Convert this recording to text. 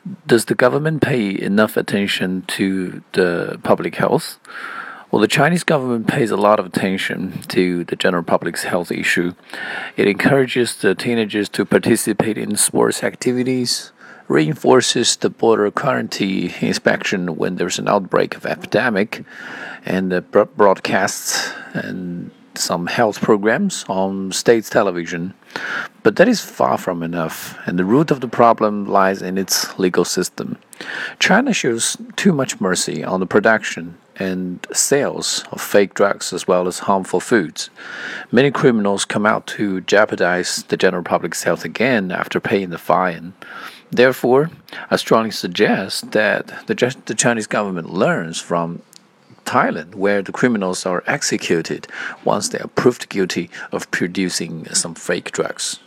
Does the government pay enough attention to the public health? Well, the Chinese government pays a lot of attention to the general public's health issue. It encourages the teenagers to participate in sports activities, reinforces the border quarantine inspection when there's an outbreak of epidemic, and broadcasts and some health programs on state television. But that is far from enough, and the root of the problem lies in its legal system. China shows too much mercy on the production and sales of fake drugs as well as harmful foods. Many criminals come out to jeopardize the general public's health again after paying the fine. Therefore, I strongly suggest that the Chinese government learns from Thailand, where the criminals are executed once they are proved guilty of producing some fake drugs.